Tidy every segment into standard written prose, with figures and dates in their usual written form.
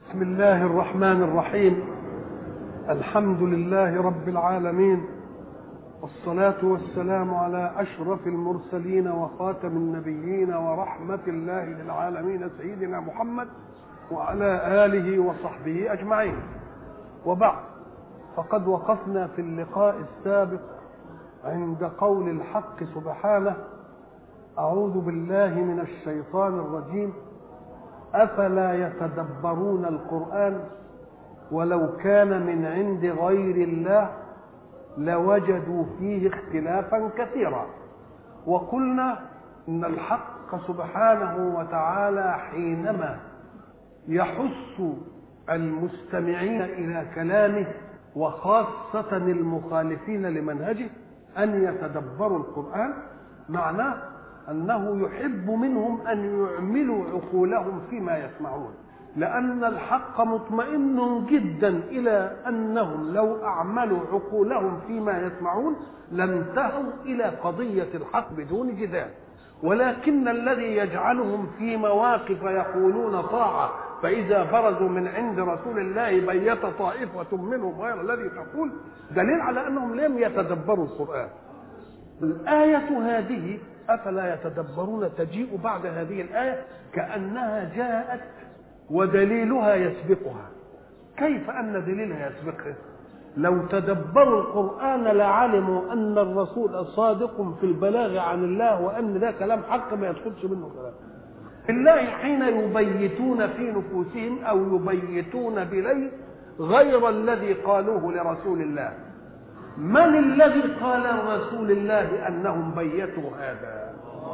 بسم الله الرحمن الرحيم. الحمد لله رب العالمين، والصلاة والسلام على أشرف المرسلين وخاتم النبيين ورحمة الله للعالمين سيدنا محمد وعلى آله وصحبه أجمعين. وبعد، فقد وقفنا في اللقاء السابق عند قول الحق سبحانه: أعوذ بالله من الشيطان الرجيم، أفلا يتدبرون القرآن ولو كان من عند غير الله لوجدوا فيه اختلافا كثيرا. وقلنا إن الحق سبحانه وتعالى حينما يحث المستمعين إلى كلامه وخاصة المخالفين لمنهجه أن يتدبروا القرآن، معناه أنه يحب منهم أن يعملوا عقولهم فيما يسمعون، لأن الحق مطمئن جدا إلى أنهم لو أعملوا عقولهم فيما يسمعون لانتهوا إلى قضية الحق بدون جدال. ولكن الذي يجعلهم في مواقف يقولون طاعة فإذا برزوا من عند رسول الله بيت طائفة منهم غير الذي تقول، دليل على أنهم لم يتدبروا القرآن. الآية هذه أفلا يتدبرون تجيء بعد هذه الآية كأنها جاءت ودليلها يسبقها. كيف أن دليلها يسبقها؟ لو تدبروا القرآن لعلموا أن الرسول صادق في البلاغ عن الله، وأن ده كلام حق ما يدخلش منه كلام. الله حين يبيتون في نفوسهم أو يبيتون بليل غير الذي قالوه لرسول الله، من الذي قال لرسول الله أنهم بيتوا هذا؟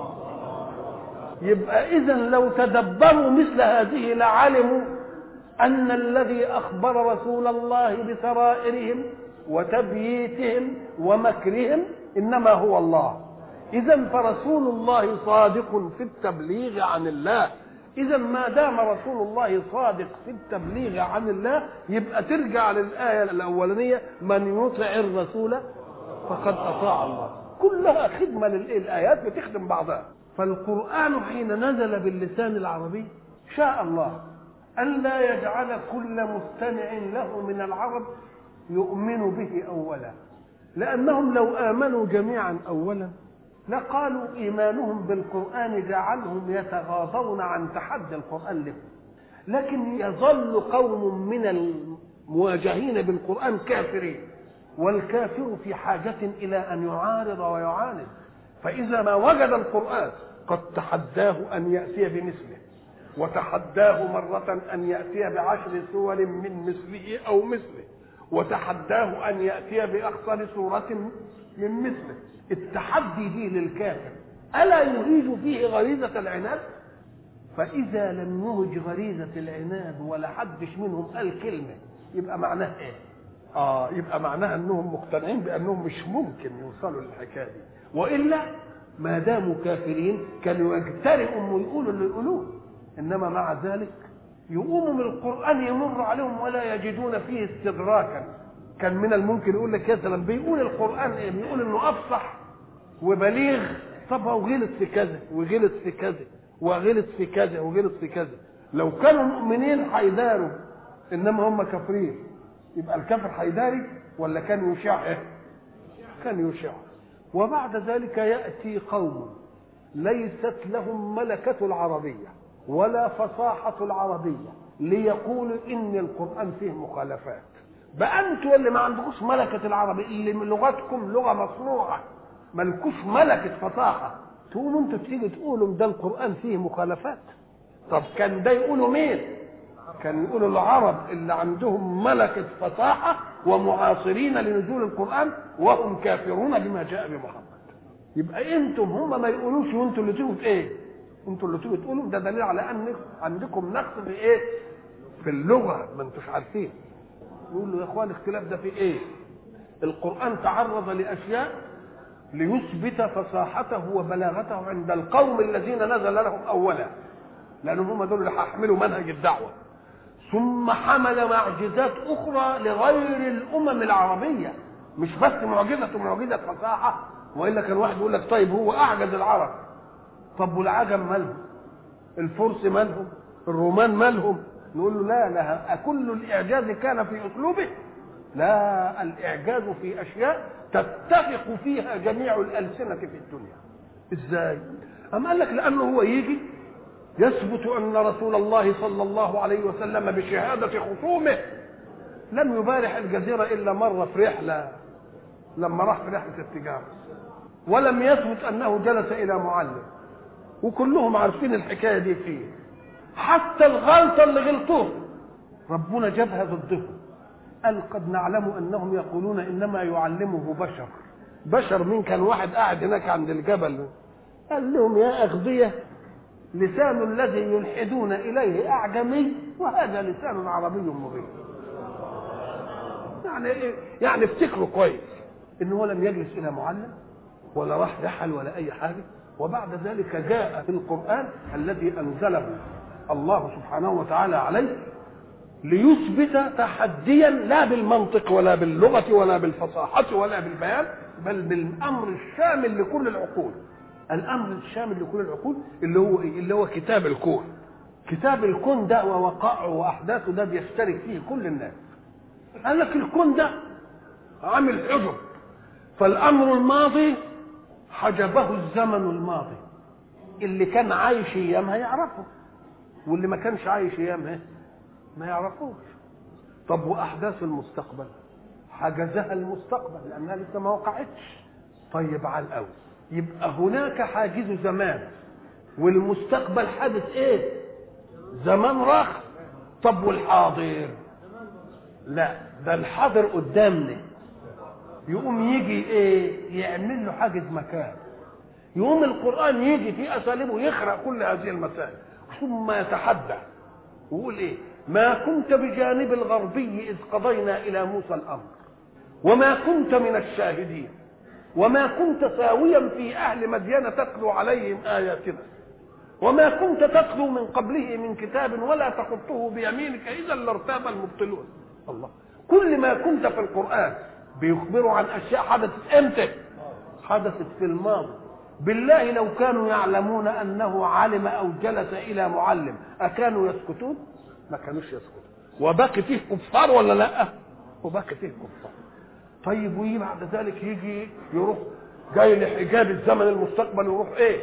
يبقى إذن لو تدبروا مثل هذه لعلموا أن الذي أخبر رسول الله بسرائرهم وتبييتهم ومكرهم إنما هو الله. إذن فرسول الله صادق في التبليغ عن الله. إذن ما دام رسول الله صادق في التبليغ عن الله يبقى ترجع للآية الأولانية: من يطع الرسول فقد أطاع الله. كلها خدمة للآيات بتخدم بعضها. فالقرآن حين نزل باللسان العربي شاء الله أن لا يجعل كل مستمع له من العرب يؤمن به أولا، لأنهم لو آمنوا جميعا أولا لقالوا إيمانهم بالقرآن جعلهم يتغاضون عن تحدي القرآن لهم. لكن يظل قوم من المواجهين بالقرآن كافرين، والكافر في حاجة إلى أن يعارض ويعاند. فإذا ما وجد القرآن قد تحداه أن يأتي بمثله، وتحداه مرة أن يأتي بعشر سور من مثله أو مثله، وتحداه أن يأتي بأخطر سورة من مثله. التحدي دي للكافر ألا يهيج فيه غريزة العناد؟ فإذا لم يهج غريزة العناد ولا حدش منهم قال كلمة يبقى معناه إيه؟ يبقى معناه أنهم مقتنعين بأنهم مش ممكن يوصلوا للحكاية دي، وإلا ما داموا كافرين كانوا يجترئوا ويقولوا اللي يقولوه. إنما مع ذلك يقوموا من القرآن يمر عليهم ولا يجدون فيه استدراكا. كان من الممكن يقول لك مثلا بيقول القرآن ايه؟ بيقول انه افصح وبليغ. طب هو غلط في كذا وغلط في كذا وغلط في كذا وغلط في كذا. لو كانوا مؤمنين هيداروا، انما هم كافرين. يبقى الكافر هيداري ولا كان يشاع؟ ايه؟ كان يشاع. وبعد ذلك يأتي قوم ليست لهم ملكة العربية ولا فصاحة العربية ليقولوا ان القرآن فيه مخالفات. بقى انتوا اللي ما عندكوش ملكة العربية، اللي من لغتكم لغة مصنوعة مالكوش ملكة فصاحة، تقوموا انتوا تيجي تقولوا ده القرآن فيه مخالفات. طب كان ده يقولوا مين؟ كان يقولوا العرب اللي عندهم ملكة فصاحة ومعاصرين لنزول القرآن وهم كافرون بما جاء بمحمد. يبقى انتم هم ما يقولوش وانتوا اللي تيجوا في ايه؟ انتوا اللي تيجوا تقولوا. ده دليل على ان عندكم نقص في ايه؟ في اللغة، ما انتوش عارفين. يقول له يا اخوان الاختلاف ده في ايه؟ القرآن تعرض لاشياء ليثبت فصاحته وبلاغته عند القوم الذين نزل لهم اولا، لانهم هم دول اللي هيحملوا منهج الدعوه. ثم حمل معجزات اخرى لغير الامم العربيه، مش بس معجزه فصاحه. والا كان واحد يقول لك طيب هو اعجز العرب، طب والعجم مالهم؟ الفرس مالهم؟ الرومان مالهم؟ نقول له لا كل الإعجاز كان في أسلوبه؟ لا، الإعجاز في أشياء تتفق فيها جميع الألسنة في الدنيا. إزاي؟ أم قال لك لأنه هو يجي يثبت أن رسول الله صلى الله عليه وسلم بشهادة خصومه لم يبارح الجزيرة إلا مرة في رحلة، لما راح في رحلة التجارة، ولم يثبت أنه جلس إلى معلم، وكلهم عارفين الحكاية دي فيه. حتى الغلطة اللي غلطوه ربنا جابها ضدهم، قال قد نعلم أنهم يقولون إنما يعلمه بشر. بشر مين؟ كان واحد قاعد هناك عند الجبل قال لهم يا أغبية، لسان الذي يلحدون إليه أعجمي وهذا لسان عربي مبين. يعني إيه؟ يعني افتكروا كويس إنه لم يجلس إلى معلم ولا راح رحل ولا أي حاجة. وبعد ذلك جاء في القرآن الذي أنزله الله سبحانه وتعالى عليه ليثبت تحديا لا بالمنطق ولا باللغة ولا بالفصاحة ولا بالبيان، بل بالأمر الشامل لكل العقول. الأمر الشامل لكل العقول اللي هو إيه؟ اللي هو كتاب الكون. كتاب الكون ده ووقائعه وأحداثه ده بيشترك فيه كل الناس. قال لك الكون ده عامل حجب، فالأمر الماضي حجبه الزمن الماضي، اللي كان عايش ايامها يعرفه واللي ما كانش عايش ايامها ما يعرفوش. طب واحداث المستقبل حجزها المستقبل لانها لسه ما وقعتش. طيب على الاول يبقى هناك حاجز زمان، والمستقبل حادث ايه؟ زمان راح. طب والحاضر؟ لا، ده الحاضر قدامنا، يقوم يجي ايه؟ يعمل له حاجز مكان. يقوم القرآن يجي في أساليبه يخرق كل هذه المسائل، ثم يتحدى ويقول ايه؟ ما كنت بجانب الغربي إذ قضينا إلى موسى الأمر وما كنت من الشاهدين وما كنت ساويا في أهل مدين تتلو عليهم آياتنا وما كنت تتلو من قبله من كتاب ولا تخطه بيمينك إذا لارتاب المبطلون. الله، كل ما كنت في القرآن بيخبروا عن أشياء حدثت امتى؟ حدثت في الماضي. بالله لو كانوا يعلمون أنه علم أو جلس إلى معلم أكانوا يسكتون؟ ما كانوش يسكتون. وباقي فيه كفار ولا لا؟ وباقي فيه كفار. طيب ويجي بعد ذلك يجي يروح جاي لحجاب الزمن المستقبل ويروح ايه؟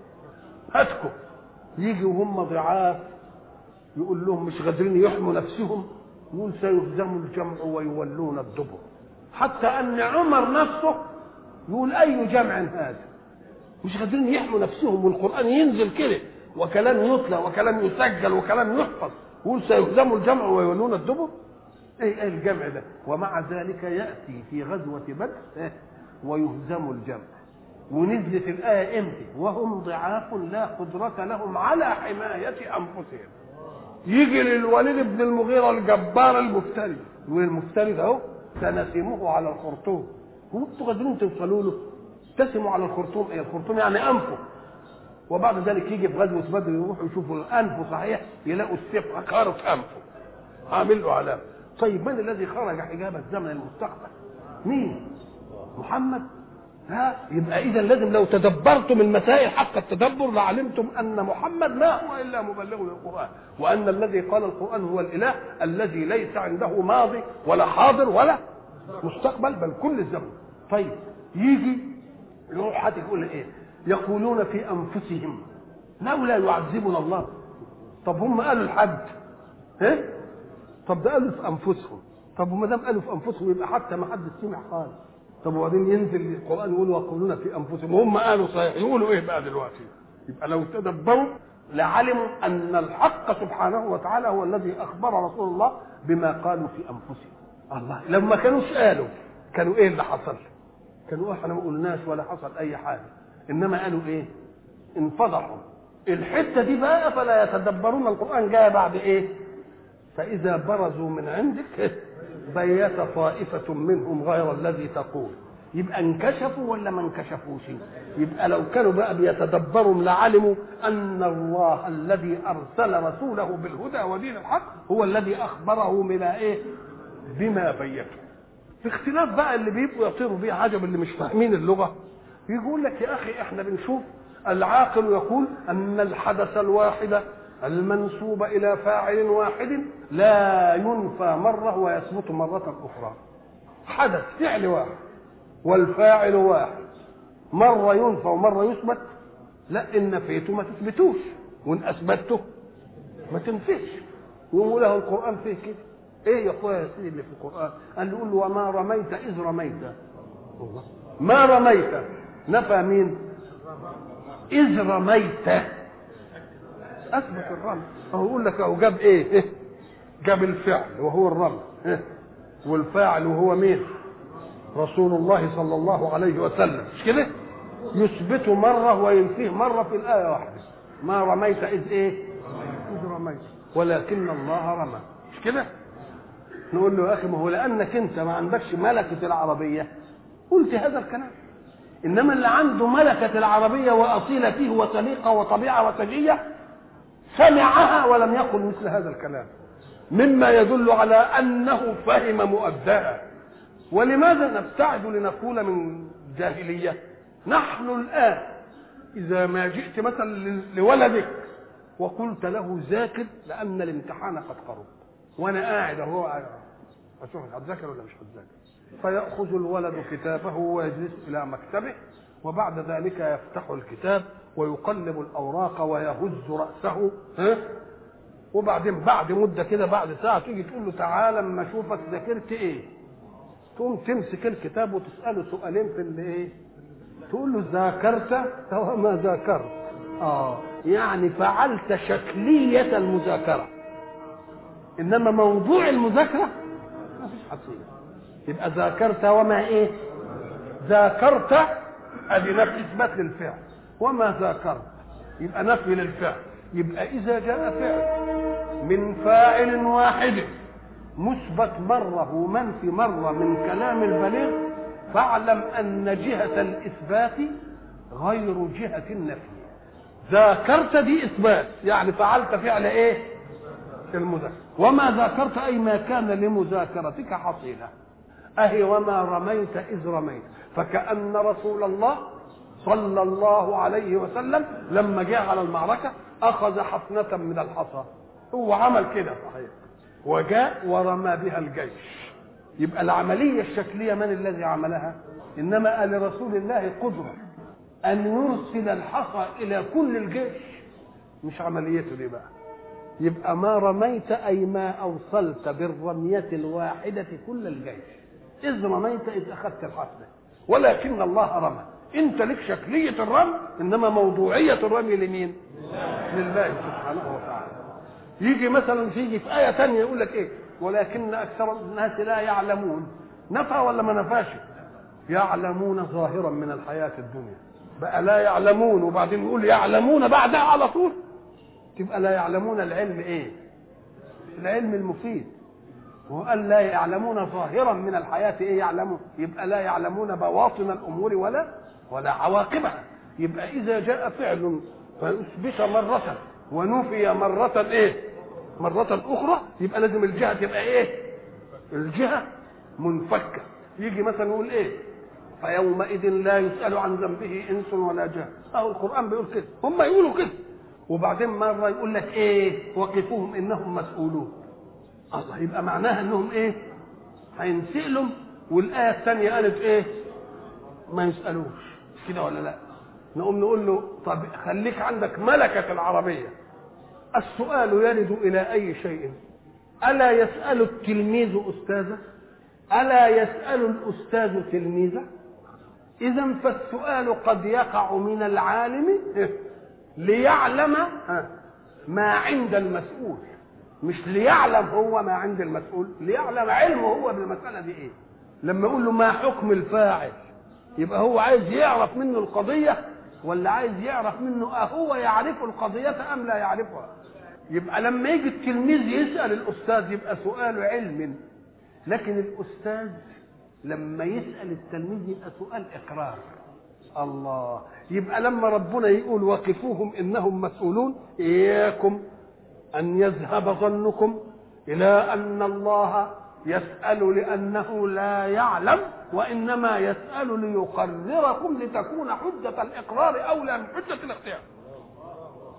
هاتكم. يجي وهم ضعاف يقول لهم مش قادرين يحموا نفسهم، يقول سيهزم الجمع ويولون الدبر. حتى ان عمر نفسه يقول اي جمع هذا؟ مش قادرين يحموا نفسهم، والقرآن ينزل كده وكلام يتلى وكلام يسجل وكلام يحفظ، يقول سيهزم الجمع ويولون الدبر. ايه الجمع ده؟ ومع ذلك يأتي في غزوة بدر ويهزم الجمع. ونزلت الآية امتى؟ وهم ضعاف لا قدرة لهم على حماية أنفسهم. يجي للوليد بن المغيرة الجبار المفتري، والمفتري ده اهو سنسمه على الخرطوم. هو انتوا قادرين توصلوا له؟ تسموا على الخرطوم ايه؟ الخرطوم يعني انفه. وبعد ذلك يجي في غزوة بدر يروحوا يشوفوا انفه صحيح، يلاقوا السيف خارط انفه عامل له علامة. طيب من الذي خرج حجاب الزمن المستقبل؟ مين؟ محمد؟ ها، يبقى اذا لازم لو تدبرتم المسائل حق التدبر لعلمتم ان محمد ما هو الا مبلغ للقرآن، وان الذي قال القرآن هو الاله الذي ليس عنده ماضي ولا حاضر ولا مستقبل بل كل الزمن. طيب يجي يروح حد يقول ايه؟ يقولون في انفسهم لولا يعذبنا الله. طب هم قالوا الحد ايه؟ طب ده قالوا في انفسهم. طب وما دام قالوا في انفسهم يبقى حتى ما حد سمع خالص. طب وبعدين ينزل القرآن يقول ويقولون في انفسهم وهم قالوا صحيح، يقولوا ايه بقى دلوقتي؟ يبقى لو تدبروا لعلموا ان الحق سبحانه وتعالى هو الذي اخبر رسول الله بما قالوا في انفسهم. الله، لما كانوش قالوا كانوا ايه اللي حصل؟ كانوا احنا ما قلناش ولا حصل اي حاجه، انما قالوا ايه؟ انفضحوا. الحته دي بقى فلا يتدبرون القرآن جاء بعد ايه؟ فاذا برزوا من عندك بيت طائفة منهم غير الذي تقول. يبقى انكشفوا ولا ما انكشفوش؟ يبقى لو كانوا بقى بيتدبروا لعلموا ان الله الذي ارسل رسوله بالهدى ودين الحق هو الذي اخبره من ايه؟ بما بيته. في اختلاف بقى اللي بيبقوا يطيروا بيه عجب اللي مش فاهمين اللغة، يقول لك يا اخي احنا بنشوف العاقل يقول ان الحدث الواحد المنسوب إلى فاعل واحد لا ينفى مرة ويثبت مرة أخرى. حدث فعل واحد والفاعل واحد، مرة ينفى ومرة يثبت. لا، إن نفيته ما تثبتوش وإن أثبته ما تنفيش. يقول له القرآن فيه كده. إيه يا أخويا يا سيدي اللي في القرآن؟ قال له قول له وما رميت إذ رميت. ما رميت نفى مين؟ إذ رميت أثبت الرمي. أهو يقول لك أهو جاب إيه؟ جاب الفعل وهو الرمي، والفاعل وهو مين؟ رسول الله صلى الله عليه وسلم، مش كده؟ يثبت مرة وينفيه مرة في الآية واحدة. ما رميت إذ إيه؟ إذ رميت ولكن الله رمى، مش كده؟ نقول له يا أخي ما هو لأنك أنت ما عندكش ملكة العربية قلت هذا الكلام، إنما اللي عنده ملكة العربية وأصيل فيه وسليقة وطبيعة وسجية سمعها ولم يقل مثل هذا الكلام، مما يدل على أنه فهم مؤداها. ولماذا نبتعد لنقول من جاهلية؟ نحن الآن إذا ما جئت مثلا لولدك وقلت له ذاكر لأن الامتحان قد قرب، وأنا قاعد أهو أشوف هتذاكر ولا مش هتذاكر، فيأخذ الولد كتابه ويجلس إلى مكتبه، وبعد ذلك يفتح الكتاب ويقلب الأوراق ويهز رأسه، وبعدين بعد مدة كده بعد ساعة تيجي تقول له تعالى اما اشوفك ذاكرت ايه، تقوم تمسك الكتاب وتسأله سؤالين في اللي ايه، تقول له ذاكرت وما ذاكرت. يعني فعلت شكلية المذاكرة، انما موضوع المذاكرة ما فيش حصيلة. يبقى ذاكرت وما ايه؟ ذاكرت ادي نفي اثبات للفعل، وما ذاكرت يبقى نفي للفعل. يبقى اذا جاء فعل من فاعل واحد مثبت مرة ومنفي مرة من كلام البليغ، فاعلم ان جهة الاثبات غير جهة النفي. ذاكرت دي اثبات، يعني فعلت فعل ايه؟ المذاكرة. وما ذاكرت اي ما كان لمذاكرتك حصيلة. اهي وما رميت اذ رميت. فكأن رسول الله صلى الله عليه وسلم لما جاء على المعركة اخذ حفنة من الحصى، هو عمل كده صحيح، وجاء ورمى بها الجيش. يبقى العملية الشكلية من الذي عملها؟ انما لرسول الله قدرة ان يرسل الحصى الى كل الجيش، مش عمليته دي بقى. يبقى ما رميت اي ما اوصلت بالرمية الواحدة كل الجيش. اذ رميت اذ اخذت الحفنة، ولكن الله رمى. انت لك شكلية الرمي، انما موضوعية الرمي لمين؟ لله سبحانه وتعالى. يجي مثلا في آية تانية يقول لك ايه؟ ولكن اكثر الناس لا يعلمون. نفى ولا ما نفاش؟ يعلمون ظاهرا من الحياة الدنيا. بقى لا يعلمون وبعدين يقول يعلمون بعدها على طول، تبقى لا يعلمون العلم ايه؟ العلم المفيد. وقال لا يعلمون ظاهرا من الحياة ايه يعلمون؟ يبقى لا يعلمون بواطن الامور ولا عواقبها. يبقى اذا جاء فعل فاثبت مرة ونفي مرة ايه؟ مرة اخرى، يبقى لازم الجهة تبقى ايه؟ الجهة منفكة. يجي مثلا يقول ايه؟ فيومئذ لا يسأل عن ذنبه انس ولا جان. اهو القرآن بيقول كده، هم يقولوا كده. وبعدين مرة يقول لك ايه؟ وقفوهم انهم مسؤولون. الله، يبقى معناها انهم ايه؟ هينسألوا. والآية الثانية قالت ايه؟ ما يسألوش، كده ولا لا؟ نقوم نقول له طب خليك عندك ملكة العربية. السؤال يرد إلى أي شيء؟ ألا يسأل التلميذ أستاذه؟ ألا يسأل الأستاذ تلميذه؟ إذن فالسؤال قد يقع من العالم ليعلم ما عند المسؤول، مش ليعلم هو ما عند المسؤول، ليعلم علمه هو بالمسألة دي إيه. لما يقول له ما حكم الفاعل، يبقى هو عايز يعرف منه القضية ولا عايز يعرف منه هو يعرف القضية أم لا يعرفها. يبقى لما يجي التلميذ يسأل الأستاذ يبقى سؤال علم، لكن الأستاذ لما يسأل التلميذ يبقى سؤال إقرار. الله، يبقى لما ربنا يقول وقفوهم إنهم مسؤولون، إياكم أن يذهب ظنكم إلى أن الله يسأل لأنه لا يعلم، وإنما يسأل ليقرركم لتكون حجة الإقرار أولى من حجة الاختيار.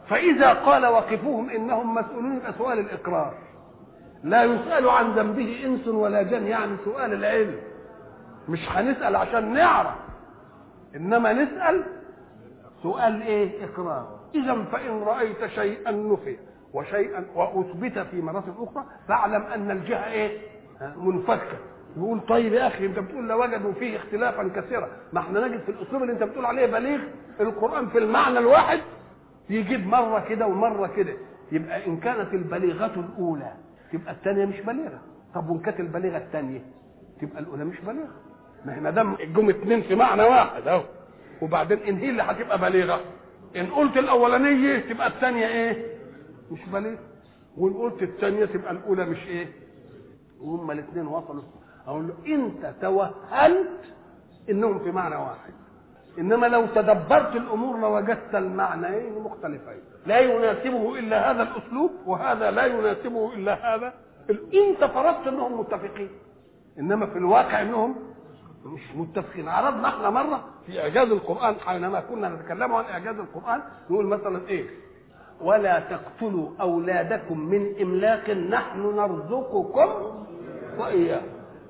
فإذا قال وقفوهم إنهم مسؤولون يبقى سؤال الإقرار، لا يسأل عن ذنبه إنس ولا جن، يعني سؤال العلم، مش هنسأل عشان نعرف، إنما نسأل سؤال إيه؟ إقرار. إذا فإن رأيت شيئا نفي وشيئا وأثبت في مراتب أخرى فاعلم أن الجهة إيه؟ منفكة. يقول طيب يا أخي أنت بتقول لوجدوا فيه اختلافا كثيرا، ما احنا نجد في الأسلوب اللي أنت بتقول عليه بليغ القرآن في المعنى الواحد يجيب مرة كده ومرة كده، يبقى إن كانت البليغة الأولى تبقى الثانية مش بليغة. طب وإن كانت البليغة الثانية تبقى الأولى مش بليغة. ما دام الجم اتنين في معنى واحد أهو، وبعدين إن هي اللي هتبقى بليغة، إن قلت الأولانية تبقى الثانية إيه؟ مش بليغة، وإن قلت الثانية تبقى الأولى مش إيه؟ وهم الاثنين وصلوا. أقول له أنت توهمت إنهم في معنى واحد، إنما لو تدبرت الأمور لوجدت المعنيين مختلفين، لا يناسبه إلا هذا الأسلوب وهذا لا يناسبه إلا هذا. أنت فرضت إنهم متفقين، إنما في الواقع إنهم مش متفقين. عرضنا احنا مرة في إعجاز القرآن حينما كنا نتكلم عن إعجاز القرآن نقول مثلا إيه؟ ولا تقتلوا أولادكم من إملاق نحن نرزقكم وإياكم.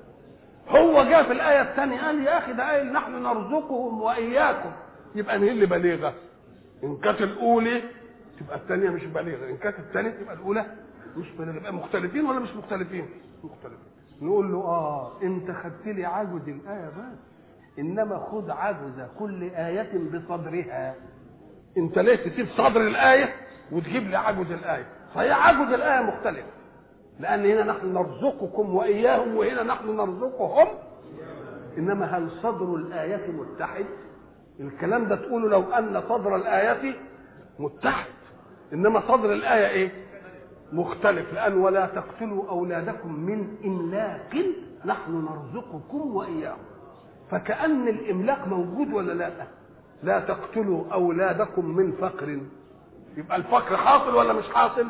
هو جاء في الآية الثانية قال يا أخي ده قايل نحن نرزقهم وإياكم، يبقى هي اللي بليغة. إن كانت الأولى تبقى الثانية مش بليغة، إن كانت الثانية تبقى الأولى مش بليغة. يبقى مختلفين ولا مش مختلفين؟ مختلفين. نقول له أنت خدت لي عجز الآية بس، إنما خذ عجز كل آية بصدرها. أنت ليه تسيب صدر الآية وتجيب لي عجز الآية؟ فهي عجز الآية مختلف، لأن هنا نحن نرزقكم وإياهم وهنا نحن نرزقهم. إنما هل صدر الآية متحد؟ الكلام ده تقوله لو أن صدر الآية متحد، إنما صدر الآية إيه؟ مختلف. لأن ولا تقتلوا أولادكم من إملاق نحن نرزقكم وإياهم، فكأن الإملاق موجود ولا لا؟ لا تقتلوا أولادكم من فقر، يبقى الفقر حاصل ولا مش حاصل؟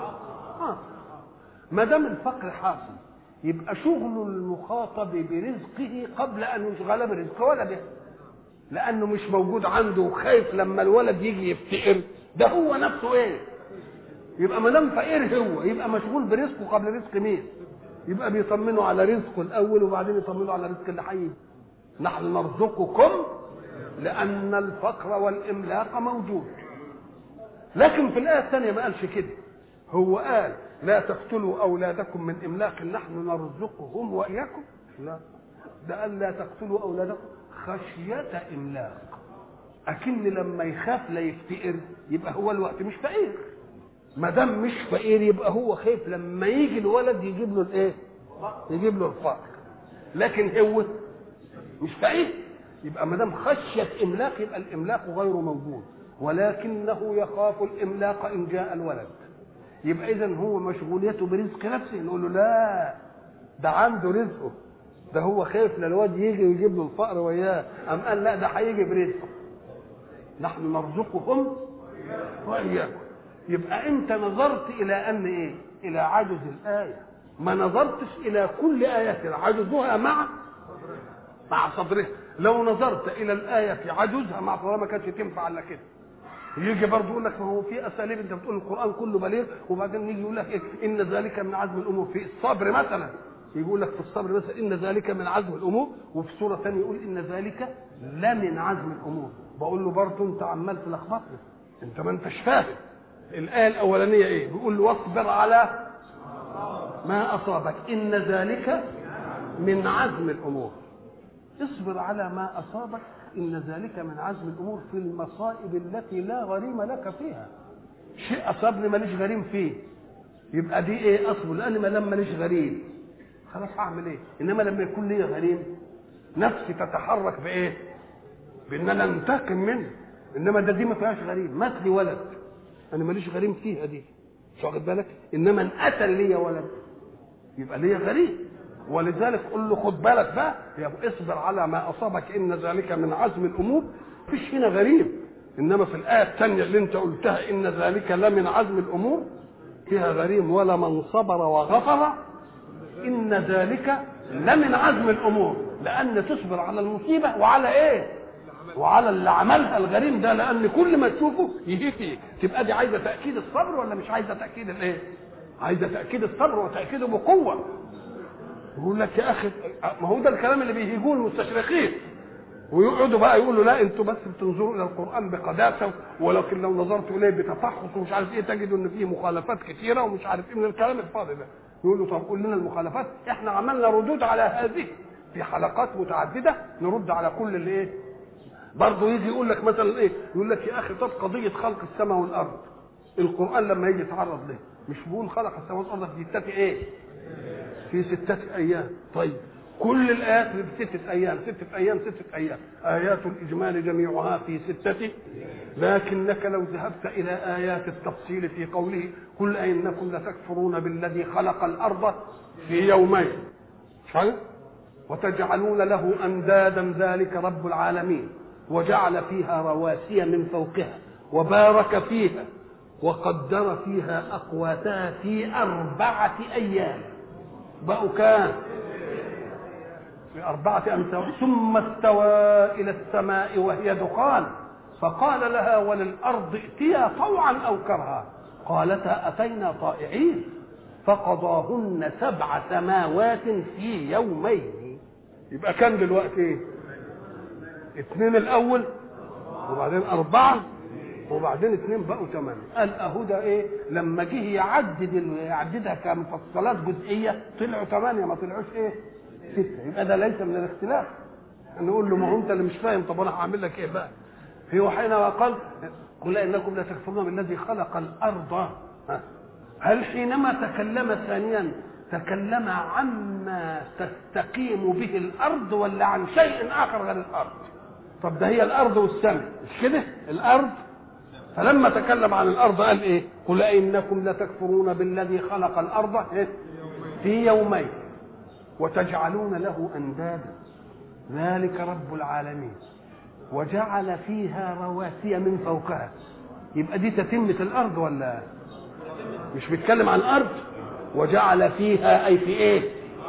ما دام الفقر حاصل يبقى شغل المخاطب برزقه قبل ان يشغل برزق ولده، لانه مش موجود عنده وخايف لما الولد يجي يفتقر. ده هو نفسه ايه؟ يبقى ما دام فقير هو يبقى مشغول برزقه قبل رزق مين؟ يبقى بيطمنوا على رزقه الاول وبعدين يطمنوا على رزق اللي هيجي. نحن نرزقكم لان الفقر والاملاق موجود. لكن في الايه الثانيه ما قالش كده، هو قال لا تقتلوا أولادكم من إملاق نحن نرزقهم وإياكم. لا، ده قال لا تقتلوا أولادكم خشية إملاق. أكن لما يخاف لا يفتقر يبقى هو الوقت مش فقير. ما دام مش فقير يبقى هو خايف لما يجي الولد يجيب له الإيه؟ يجيب له الفقر. لكن هو مش فقير، يبقى ما دام خشية إملاق يبقى الإملاق غير موجود، ولكنه يخاف الإملاق إن جاء الولد. يبقى اذا هو مشغوليته برزق نفسه. نقول له لا، ده عنده رزقه، ده هو خايف للواد يجي ويجيب له الفقر وياه، ام قال لا ده هيجي برزقه. نحن نرزقكم واياكم. يبقى انت نظرت الى ان ايه؟ الى عجز الايه، ما نظرتش الى كل ايه عجزها مع صدرها. لو نظرت الى الايه عجزها مع صدرها ما كانتش تنفع الا كده. يجي برضه يقول لك ما هو في اساليب، انت بتقول القران كله بليغ وبعدين يجي يقول لك إيه؟ ان ذلك من عزم الامور. في الصبر مثلا يقول لك في الصبر مثلا ان ذلك من عزم الامور، وفي سوره ثانيه يقول ان ذلك لمن عزم الامور. بقول له برضه انت عمال تلخبطني، انت ما انتش فاهم. الايه الاولانيه ايه؟ بيقول له واصبر على ما اصابك ان ذلك من عزم الامور. اصبر على ما اصابك إن ذلك من عزم الأمور في المصائب التي لا غريم لك فيها. شيء أصابني ماليش غريم فيه، يبقى دي إيه؟ أصبر، لأن ما لما ماليش غريم خلاص هعمل إيه؟ إنما لما يكون لي غريم نفسي تتحرك بإيه؟ بإن أنا أنتقم منه. إنما دي ما فيهاش غريم. مات لي ولد أنا ماليش غريم فيها دي، مش واخد بالك؟ إنما إن قتل لي ولد يبقى لي غريم. ولذلك قل له خد بالك بقى يا ابو اصبر على ما اصابك ان ذلك من عزم الامور. مفيش هنا غريب، انما في الايه الثانيه اللي انت قلتها ان ذلك لمن عزم الامور فيها غريم. ولا من صبر وغفر ان ذلك لمن عزم الامور، لان تصبر على المصيبه وعلى ايه؟ وعلى اللي عملها الغريم ده، لان كل ما تشوفه يهيك. تبقى دي عايزه تاكيد الصبر ولا مش عايزه تاكيد الايه؟ عايزه تاكيد الصبر وتاكيده بقوه. يقول لك يا اخي، ما هو ده الكلام اللي بيهيجوه المستشرقين، ويقعدوا بقى يقولوا لا انتوا بس بتنظروا الى القران بقداسه، ولكن لو نظرتوا اليه بتفحص ومش عارف ايه تجدوا ان فيه مخالفات كثيره ومش عارف ايه من الكلام الفاضي ده. يقول له طب قول لنا المخالفات، احنا عملنا ردود على هذه في حلقات متعدده، نرد على كل اللي ايه. برضه يجي يقول لك مثلا ايه، يقول لك يا اخي طب قضيه خلق السماء والارض، القران لما يجي يتعرض له مش بيقول خلق السماء والارض في 6 ايه؟ في 6 ايام. طيب كل الايات في 6 ايام، 6 ايام 6 ايام، ايات الاجمال جميعها في 6، لكنك لو ذهبت الى ايات التفصيل في قوله قل انكم لتكفرون بالذي خلق الارض في يومين وتجعلون له اندادا ذلك رب العالمين وجعل فيها رواسي من فوقها وبارك فيها وقدر فيها اقواتها في 4 ايام. بقوا كام؟ في 4 أيام. ثم استوى إلى السماء وهي دخان فقال لها وللأرض ائتيا طوعا أو كرها قالتا أتينا طائعين فقضاهن 7 سماوات في يومين. يبقى كان دلوقتي ايه؟ 2 الأول وبعدين 4 وبعدين 2 بقوا 8. قال اهو ده ايه؟ لما جه يعددها كمفصلات جزئيه طلعوا 8، ما طلعوش ايه؟ 6. يبقى ده ليس من الاختلاف. نقول له ما هو انت اللي مش فاهم، طب انا هعمل لك ايه بقى؟ هو حينما قال قل انكم لا تكفرون بالذي خلق الارض، هل حينما تكلم ثانيا تكلم عما تستقيم به الارض ولا عن شيء اخر غير الارض؟ طب ده هي الارض والسماء مش كده؟ الارض. فلما تكلم عن الارض قال ايه؟ قل انكم لتكفرون بالذي خلق الارض في يومين وتجعلون له اندادا ذلك رب العالمين وجعل فيها رواسي من فوقها. يبقى دي تتمة الارض ولا مش بيتكلم عن الارض؟ وجعل فيها اي في ايه؟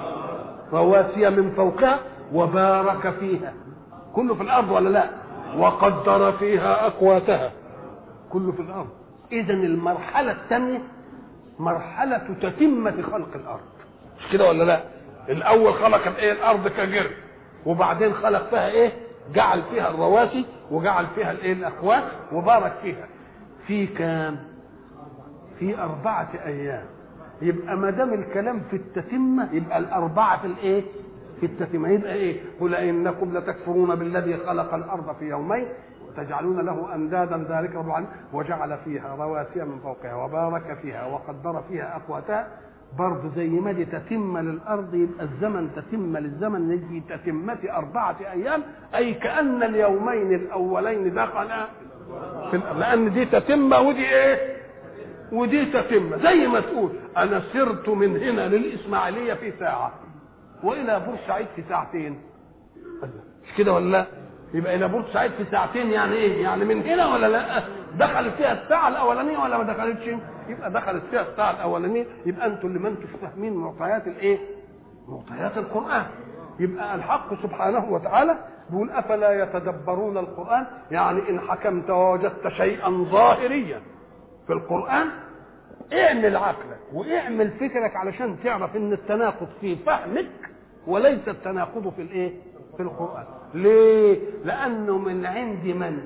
رواسي من فوقها وبارك فيها، كله في الارض ولا لا؟ وقدر فيها اقواتها، كله في الارض. اذا المرحله الثانيه مرحله تتمه خلق الارض، مش كده ولا لا؟ الاول خلق الايه؟ الارض كجرم، وبعدين خلق فيها ايه؟ جعل فيها الرواسي وجعل فيها الايه؟ الاقوات وبارك فيها. في كام؟ في 4 ايام. يبقى ما دام الكلام في التتمه يبقى ال4 في الايه؟ في التتمه. يبقى ايه؟ قل انكم لتكفرون بالذي خلق الارض في يومين تجعلون له اندادا ذلك رب العالمين وجعل فيها رواسي من فوقها وبارك فيها وقدر فيها اقواتها. برضه زي ما دي تتمه للارض يبقى الزمن تتمه للزمن نجي تتمه 4 ايام، اي كان اليومين الاولين دخلا في لان دي تتمه ودي ايه؟ ودي تتمه. زي ما تقول انا سرت من هنا للاسماعيليه في ساعه والى بورسعيد في 2 ساعة، مش كده ولا لا؟ يبقى الى بورسعيد في 2 ساعة يعني ايه؟ يعني من هنا ولا لا؟ دخلت فيها الساعه الاولانيه ولا ما دخلتش؟ يبقى دخلت فيها الساعه الاولانيه. يبقى انتوا اللي ما انتوش فاهمين معطيات الايه؟ معطيات القران. يبقى الحق سبحانه وتعالى بيقول افلا يتدبرون القران، يعني ان حكمت ووجدت شيئا ظاهريا في القران اعمل عقلك واعمل فكرك علشان تعرف ان التناقض في فهمك وليس التناقض في الايه؟ في القرآن. ليه؟ لأنه من عند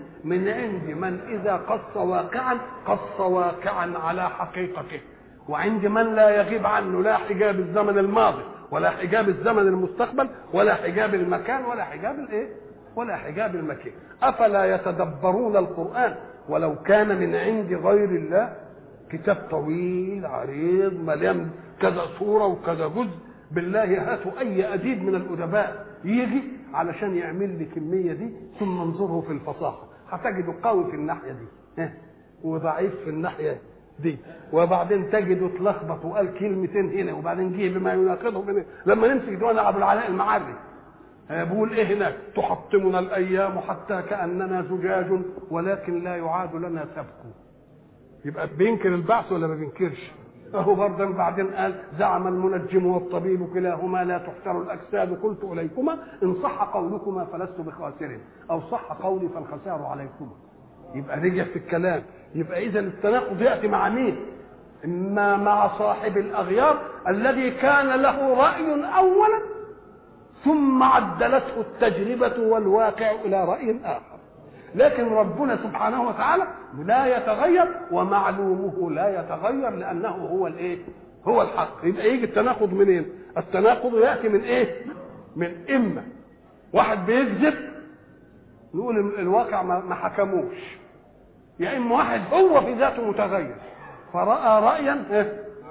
من إذا قص واقعا قص واقعا على حقيقته، وعند من لا يغيب عنه لا حجاب الزمن الماضي ولا حجاب الزمن المستقبل ولا حجاب المكان ولا حجاب الايه؟ ولا حجاب المكان. أفلا يتدبرون القرآن ولو كان من عند غير الله، كتاب طويل عريض مليان كذا صورة وكذا جزء، بالله هاتوا أي أديب من الأدباء يجي علشان يعمل لي كمية دي ثم انظره في الفصاحة هتجده قوي في الناحية دي وضعيف في الناحية دي، وبعدين تجده اتلخبط وقال كلمتين هنا وبعدين جه بما يناقضه هنا. لما نمسك ديوان أبو العلاء المعري بيقول ايه هناك؟ تحطمنا الأيام حتى كأننا زجاج ولكن لا يعاد لنا سبك. يبقى بينكر البعث ولا ما بينكرش؟ فهو برضه بعدين قال زعم المنجم والطبيب كلاهما لا تحتر الاجساد، قلت اليكما ان صح قولكما فلست بخاسر، او صح قولي فالخسار عليكما. يبقى رجع في الكلام. يبقى اذا التناقض ياتي مع مين؟ اما مع صاحب الاغيار الذي كان له راي اولا ثم عدلته التجربه والواقع الى راي اخر. لكن ربنا سبحانه وتعالى لا يتغير، ومعلومه لا يتغير لانه هو الايه؟ هو الحق. يبقى يجي التناقض منين؟ التناقض ياتي من ايه؟ من اما واحد بيكذب نقول الواقع ما حكموش، يا اما واحد هو في ذاته متغير فراى رايا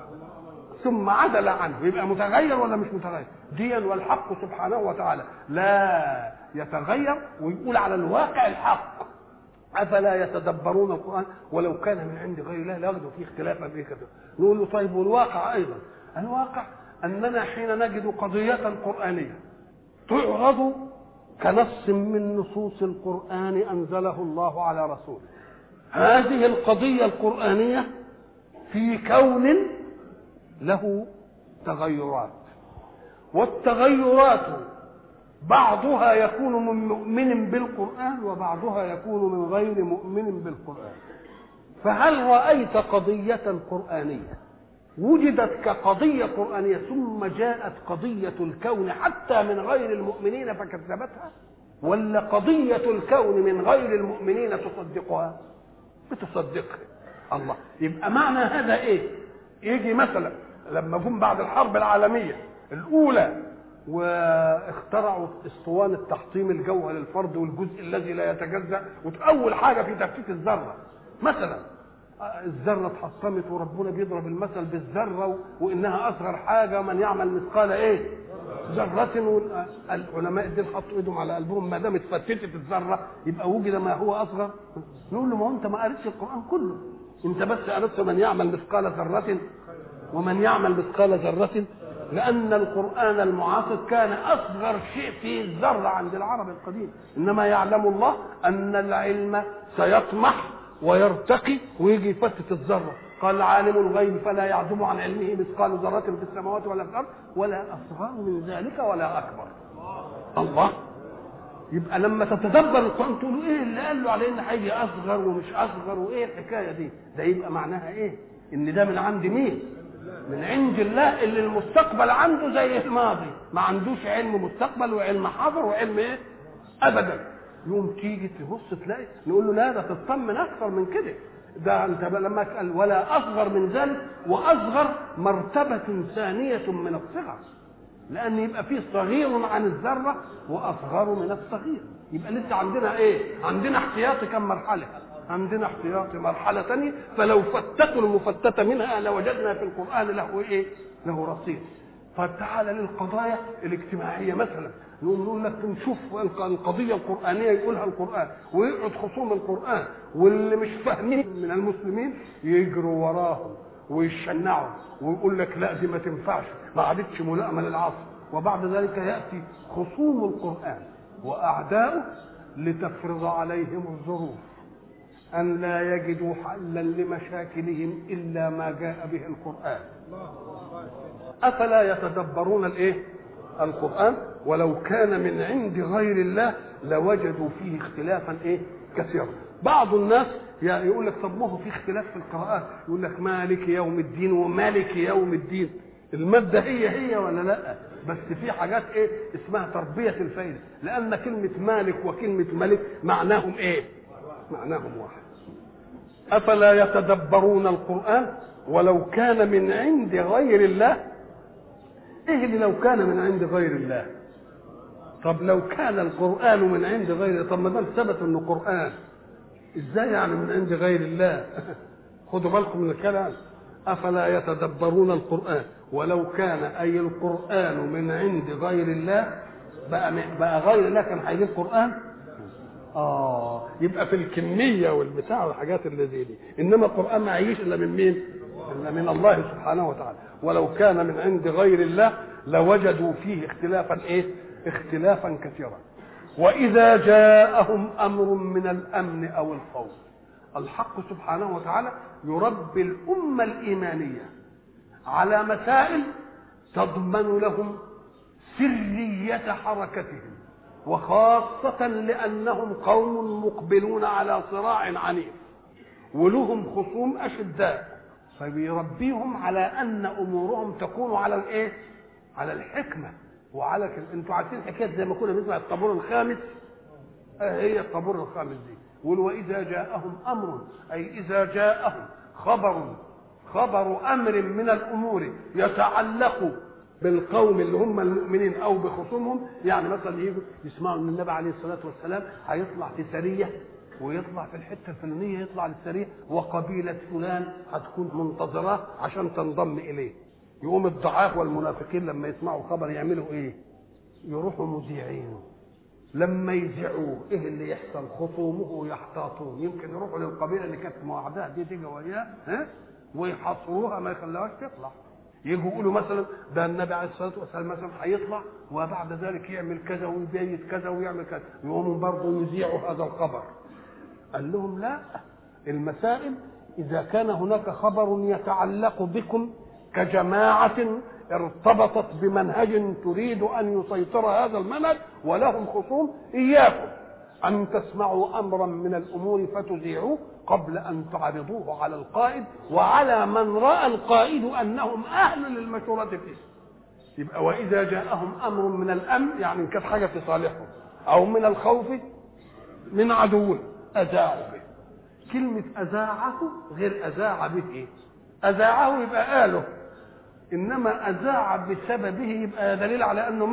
ثم عدل عنه، يبقى متغير ولا مش متغير؟ ديا والحق سبحانه وتعالى لا يتغير ويقول على الواقع الحق. افلا يتدبرون القران ولو كان من عند غير الله لوجدوا فيه اختلافا فيه كذا. نقول له طيب والواقع ايضا؟ الواقع اننا حين نجد قضيه قرانيه تعرض كنص من نصوص القران انزله الله على رسوله، هذه القضيه القرانيه في كون له تغيرات، والتغيرات بعضها يكون من مؤمن بالقرآن وبعضها يكون من غير مؤمن بالقرآن. فهل رأيت قضية قرآنية وجدت كقضية قرآنية ثم جاءت قضية الكون حتى من غير المؤمنين فكذبتها، ولا قضية الكون من غير المؤمنين تصدقها؟ بتصدقها. الله. يبقى معنى هذا ايه؟ يجي مثلا لما جم بعد الحرب العالمية الأولى واخترعوا اسطوانة تحطيم الجوهر للفرد والجزء الذي لا يتجزأ، وأول حاجة في تفكيك الذرة مثلا الذرة اتحطمت وربنا بيضرب المثل بالذرة وإنها أصغر حاجة، من يعمل مثقال إيه؟ ذرة. العلماء دول حطوا إيدهم على قلبهم ما دام اتفتتت الذرة يبقى وجد ما هو أصغر. نقول له ما هو أنت ما قريتش القرآن كله، أنت بس قريت من يعمل مثقال ذرة ومن يعمل مثقال ذرة، لأن القرآن المعاصر كان أصغر شيء في الذرة عند العرب القديم. إنما يعلم الله أن العلم سيطمح ويرتقي ويجي يفتت الذرة. قال عالم الغيب فلا يعزب عن علمه مثقال ذرة في السماوات ولا في الأرض ولا أصغر من ذلك ولا أكبر. الله. يبقى لما تتدبر القرآن تقول ايه اللي قال له عليه ان هيجي اصغر ومش اصغر وايه الحكايه دي؟ ده يبقى معناها ايه؟ ان ده من عند مين؟ من عند الله اللي المستقبل عنده زي الماضي، ما عندوش علم مستقبل وعلم حاضر وعلم ايه؟ ابدا. يوم تيجي تبص تلاقي نقول له لا ده تطمن اكثر من كده، ده انت لما قال ولا اصغر من ذلك، واصغر مرتبه ثانيه من الصغر، لان يبقى فيه صغير عن الذره واصغر من الصغير. يبقى لسه عندنا ايه؟ عندنا احتياطي كم مرحله؟ عندنا احتياطي مرحله ثانيه، فلو فتتوا المفتته منها لوجدنا في القران له ايه؟ له رصيد. فتعال للقضايا الاجتماعيه مثلا، نقول لك نشوف القضيه القرانيه يقولها القران، ويقعد خصوم القران واللي مش فاهمين من المسلمين يجروا وراهم ويشنعوا ويقول لك لا دي ما تنفعش، ما عادتش ملائمه للعصر. وبعد ذلك ياتي خصوم القران واعداؤه لتفرض عليهم الظروف ان لا يجدوا حلا لمشاكلهم الا ما جاء به القران. افلا يتدبرون الايه؟ القران ولو كان من عند غير الله لوجدوا فيه اختلافا ايه؟ كثيرا. بعض الناس يقول لك طب ما هو في اختلاف في القراءات، يقول لك مالك يوم الدين ومالك يوم الدين، الماده هي ولا لا؟ بس في حاجات ايه اسمها تربيه الفائده، لان كلمه مالك وكلمه ملك معناهم ايه؟ معناهم واحد. افلا يتدبرون القران ولو كان من عند غير الله. ايه اللي لو كان من عند غير الله؟ طب لو كان القران من عند غير، طب ما دام ثبت انه قران ازاي يعني من عند غير الله؟ خدوا بالكم من الكلام. افلا يتدبرون القران ولو كان اي القران من عند غير الله، بقى غير الله كان هيجيب قران؟ يبقى في الكميه والبتاع والحاجات اللي زي دي، انما القران ما يعيش الا من مين؟ الا من الله سبحانه وتعالى. ولو كان من عند غير الله لوجدوا فيه اختلافا ايه؟ اختلافا كثيرا. واذا جاءهم امر من الامن او الخوف، الحق سبحانه وتعالى يربي الامه الايمانيه على مسائل تضمن لهم سرية حركتهم، وخاصة لأنهم قوم مقبلون على صراع عنيف ولهم خصوم أشداء، فبيربيهم على أن أمورهم تكون على الإيه؟ على الحكمة وعلى أنتوا عارفين حكاية زي ما كنا بنسمع الطابور الخامس، هي الطابور الخامس دي. وإذا جاءهم أمر، أي إذا جاءهم خبر أمر من الأمور يتعلق بالقوم اللي هم المؤمنين أو بخصومهم، يعني مثلا يجوا يسمعوا أن النبي عليه الصلاة والسلام هيطلع في سرية ويطلع في الحتة الفلانية، يطلع للسرية وقبيلة فلان هتكون منتظراه عشان تنضم إليه. يقوم الضعاف والمنافقين لما يسمعوا خبر يعملوا إيه؟ يروحوا مذيعينه. لما يذيعوه ايه اللي يحصل؟ خصومه يحتاطون، يمكن يروحوا للقبيله اللي كانت موعدها دي تيجي وياه ويحاصروها ما يخلوهاش تطلع. يجوا يقولوا مثلا ده النبي عليه الصلاه والسلام مثلا هيطلع وبعد ذلك يعمل كذا ويبيت كذا ويعمل كذا، يقوموا برضه يذيعوا هذا الخبر. قال لهم لا، المسائل اذا كان هناك خبر يتعلق بكم كجماعه ارتبطت بمنهج تريد أن يسيطر هذا المنهج ولهم خصوم، إياكم أن تسمعوا أمرا من الأمور فتذيعوه قبل أن تعرضوه على القائد وعلى من رأى القائد أنهم أهل للمشورة فيه. يبقى وإذا جاءهم أمر من الأمن، يعني كانت حاجة في صالحهم، أو من الخوف من عدو أذاعوا به. كلمة أذاعه غير أذاع به. إيه؟ أذاعه يبقى قاله، انما اذاع بسببه يبقى دليل على انه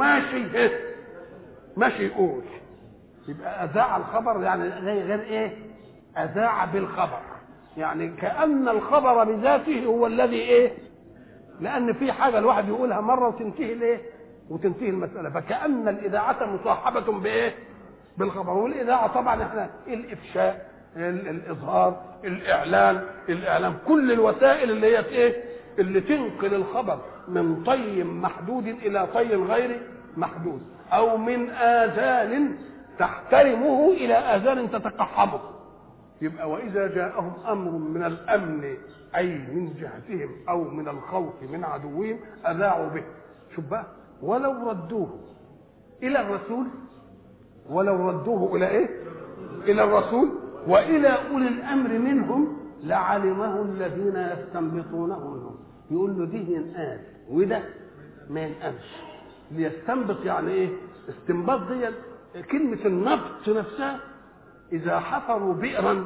ماشي يقول. يبقى اذاع الخبر يعني غير ايه؟ اذاع بالخبر، يعني كأن الخبر بذاته هو الذي ايه؟ لان في حاجه الواحد يقولها مره وتنتهي الايه؟ وتنتهي المساله، فكأن الاذاعه مصاحبه بايه؟ بالخبر. والاذاعه طبعا احنا الافشاء، الاظهار، الاعلام، كل الوسائل اللي هي ايه؟ اللي تنقل الخبر من طي محدود الى طي غير محدود، او من اذان تحترمه الى اذان تتقحمه. يبقى واذا جاءهم امر من الامن اي من جهتهم او من الخوف من عدوهم اذاعوا به. شوف بقى، ولو ردوه الى الرسول، ولو ردوه الى ايه؟ الى الرسول والى اولي الامر منهم لعلمه الذين يستنبطونه منهم. يقول له دي ينقال وده ما ينقالش. ليستنبط يعني ايه؟ استنباط دي كلمه النبط نفسها. اذا حفروا بئرا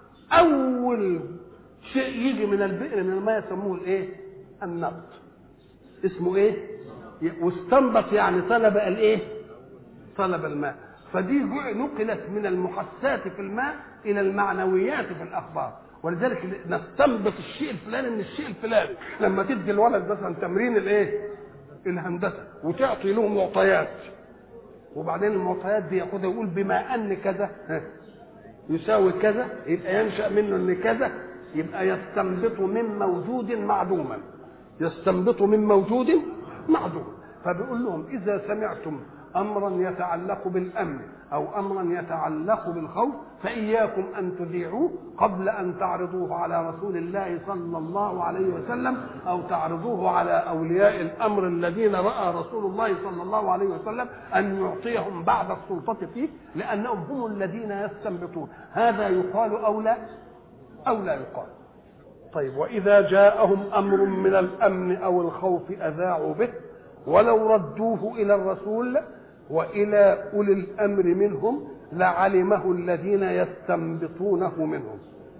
اول شيء يجي من البئر من الماء يسموه الايه؟ النبط. اسمه ايه؟ واستنبط يعني طلب الايه؟ طلب الماء. فدي نقلت من المحسات في الماء الى المعنويات في الاخبار. ولذلك نستنبط الشيء الفلاني من الشيء الفلاني. لما تدي الولد مثلا تمرين الايه؟ الهندسه، وتعطي له معطيات، وبعدين المعطيات دي ياخدها يقول بما ان كذا يساوي كذا، يبقى ينشا منه ان كذا، يبقى يستنبط من موجود معدوما، يستنبط من موجود معدوم. فبيقول لهم اذا سمعتم امرا يتعلق بالامن او امرا يتعلق بالخوف فاياكم ان تذيعوه قبل ان تعرضوه على رسول الله صلى الله عليه وسلم، او تعرضوه على اولياء الامر الذين راى رسول الله صلى الله عليه وسلم ان يعطيهم بعض السلطه فيه، لانهم هم الذين يستنبطون. هذا يقال او لا يقال. طيب، واذا جاءهم امر من الامن او الخوف اذاعوا به ولو ردوه الى الرسول والى اولي الامر منهم لعلمه الذين يستنبطونه منهم.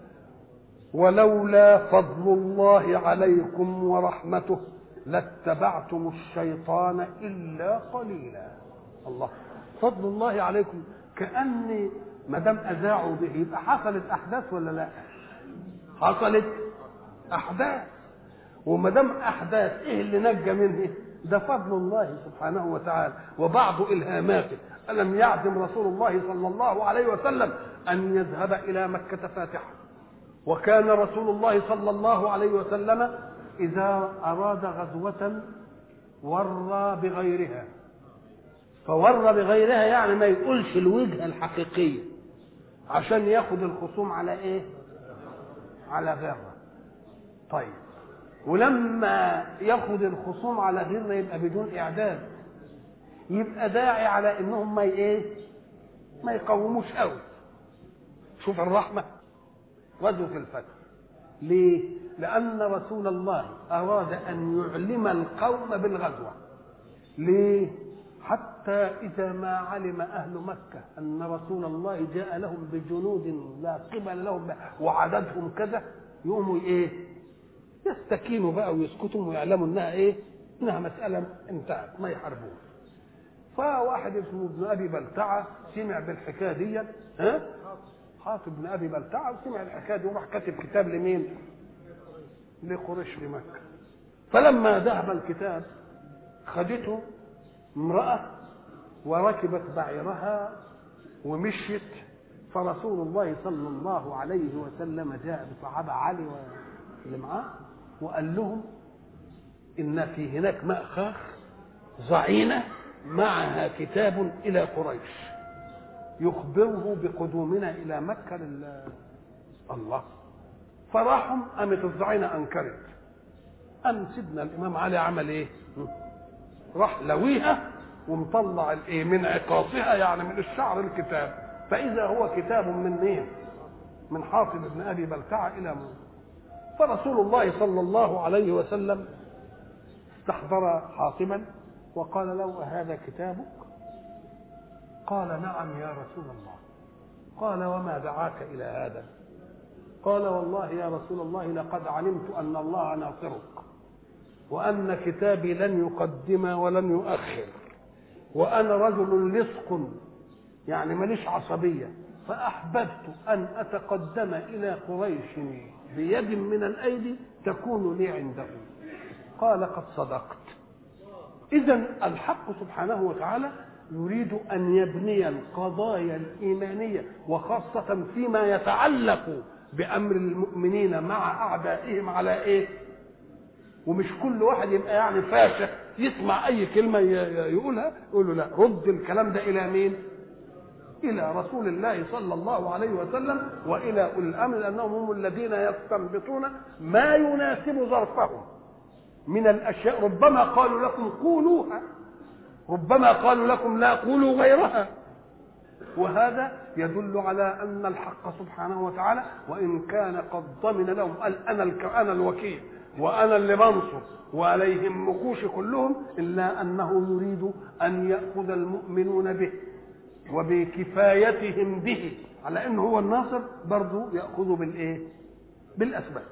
ولولا فضل الله عليكم ورحمته لاتبعتم الشيطان الا قليلا. الله، فضل الله عليكم، كأن ما دام اذاعوا به يبقى حصلت احداث ولا لا؟ حصلت احداث. وما دام احداث ايه اللي نجى منه؟ ده فضل الله سبحانه وتعالى وبعض إلهاماته. ألم يعزم رسول الله صلى الله عليه وسلم أن يذهب إلى مكة فاتحا، وكان رسول الله صلى الله عليه وسلم إذا أراد غزوة ورى بغيرها. فورى بغيرها يعني ما يقولش الوجهة الحقيقية عشان ياخد الخصوم على إيه؟ على غيرها. طيب، ولما ياخد الخصوم على غيرنا يبقى بدون اعداد، يبقى داعي على انهم ما يقوموش قوي. شوف الرحمه وذو في الفتح. ليه؟ لان رسول الله اراد ان يعلم القوم بالغزوه. ليه؟ حتى اذا ما علم اهل مكه ان رسول الله جاء لهم بجنود لا قبل لهم وعددهم كذا، يقوموا يستكينوا بقى ويسكتوا ويعلموا انها مساله انتهت، ما يحاربون. فواحد اسمه ابن ابي بلتعه سمع بالحكايه دي، حاطب بن ابي بلتعه، وسمع الحكايه دي وراح كاتب كتاب لمين؟ لقريش في مكه. فلما ذهب الكتاب خدته امراه وركبت بعيرها ومشيت، فرسول الله صلى الله عليه وسلم جاء بصحابه علي واللي معاه وقال لهم ان في هناك مأخاخ ضعينه معها كتاب الى قريش يخبره بقدومنا الى مكه الله. فراحوا قامت الضعينه انكرت. قام سيدنا الامام علي عمل راح لويها ومطلع من عقاصها، يعني من الشعر الكتاب، فاذا هو كتاب من حاطب بن ابي بلتعه الى فرسول الله صلى الله عليه وسلم استحضر حاطبا وقال له: هذا كتابك؟ قال: نعم يا رسول الله. قال: وما دعاك الى هذا؟ قال: والله يا رسول الله لقد علمت ان الله ناصرك، وان كتابي لن يقدم ولن يؤخر، وانا رجل لصق يعني ماليش عصبيه، فاحببت ان اتقدم الى قريش بيد من الايدي تكون لي عنده. قال: قد صدقت. اذن الحق سبحانه وتعالى يريد ان يبني القضايا الايمانيه وخاصه فيما يتعلق بامر المؤمنين مع اعدائهم على ومش كل واحد يبقى يعني فاشخ يسمع اي كلمه يقولها يقول له لا، رد الكلام ده الى مين؟ الى رسول الله صلى الله عليه وسلم والى اولي الامر، لانهم هم الذين يستنبطون ما يناسب ظرفهم من الاشياء. ربما قالوا لكم قولوها، ربما قالوا لكم لا قولوا غيرها. وهذا يدل على ان الحق سبحانه وتعالى وان كان قد ضمن لهم قال انا الوكيل وانا اللي بنصر ولا يهمكوش كلهم، الا انه يريد ان ياخذ المؤمنون به وبكفايتهم به على انه هو الناصر، برضه ياخذ بالاسباب.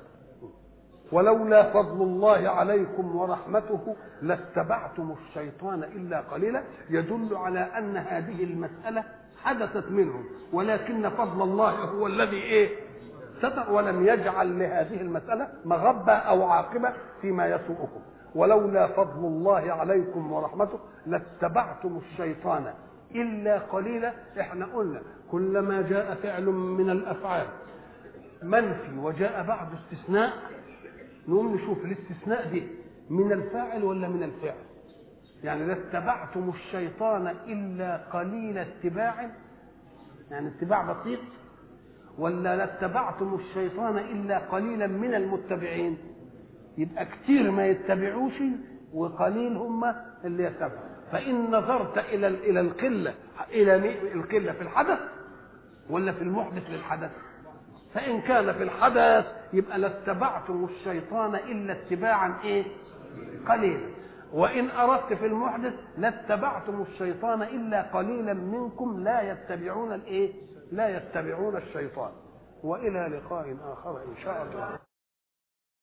ولولا فضل الله عليكم ورحمته لاتبعتم الشيطان الا قليلا، يدل على ان هذه المساله حدثت منهم، ولكن فضل الله هو الذي ستر ولم يجعل لهذه المساله مغبه او عاقبه فيما يسوءكم. ولولا فضل الله عليكم ورحمته لاتبعتم الشيطان الا قليلا. احنا قلنا كلما جاء فعل من الافعال منفي وجاء بعد استثناء نقوم نشوف الاستثناء دي من الفاعل ولا من الفعل. يعني لاتبعتم الشيطان الا قليل اتباع، يعني اتباع بسيط، ولا لاتبعتم الشيطان الا قليلا من المتبعين؟ يبقى كتير ما يتبعوش وقليل هم اللي يتبعوا. فان نظرت الى القله، الى القله في الحدث ولا في المحدث للحدث؟ فإن كان في الحدث يبقى لاتبعتم الشيطان إلا اتباعا قليلا، وإن أردت في المحدث لاتبعتم الشيطان إلا قليلا منكم لا يتبعون الشيطان. وإلى لقاء آخر إن شاء الله.